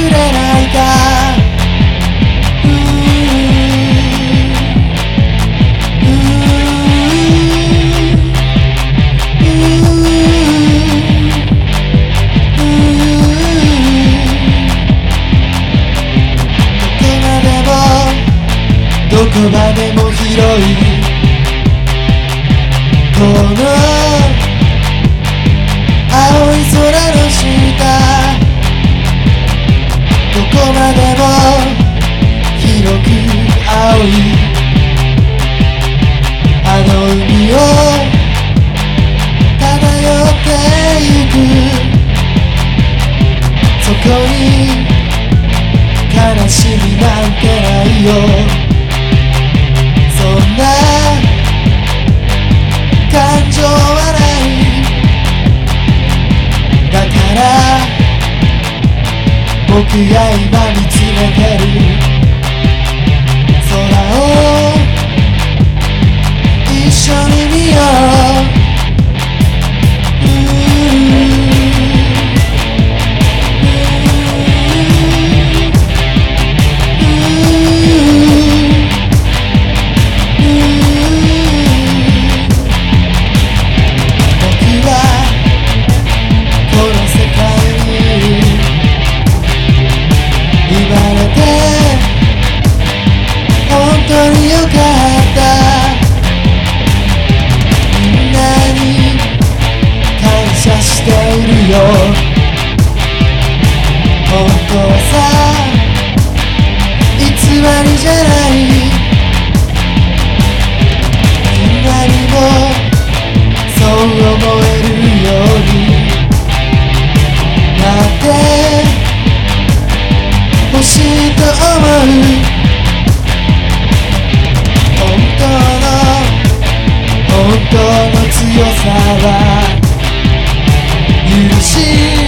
れないか。どこまでも広いこの青い空の下、どこまでも広く青いあの海を漂ってゆく。そこに悲しみなんてないよ。そんな感情はない。だから僕が今見つめてる空を一緒に見よう。本当によかった。みんなに感謝しているよ。本当さ偽りじゃない。みんなにもそう思えるようになってほしいと思う。本当の強さは許し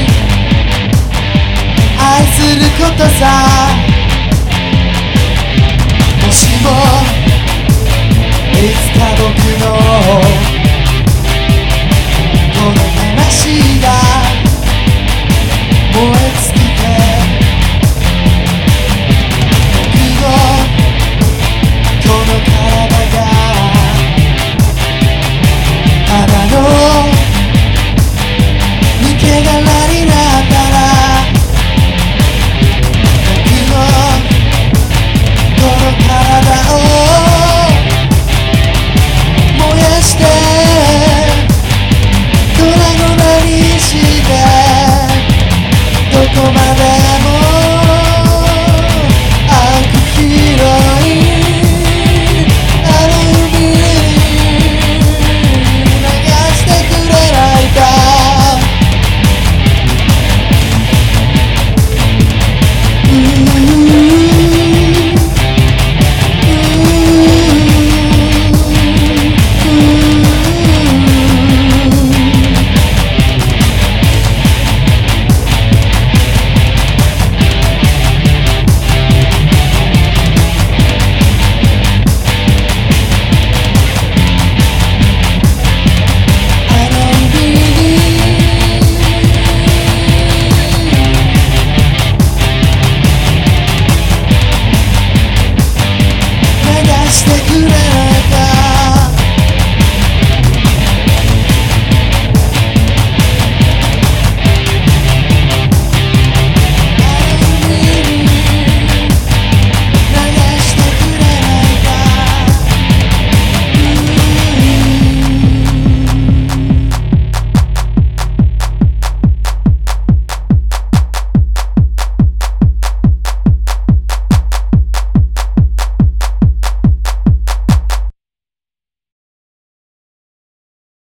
愛することさ。もしもいつか僕の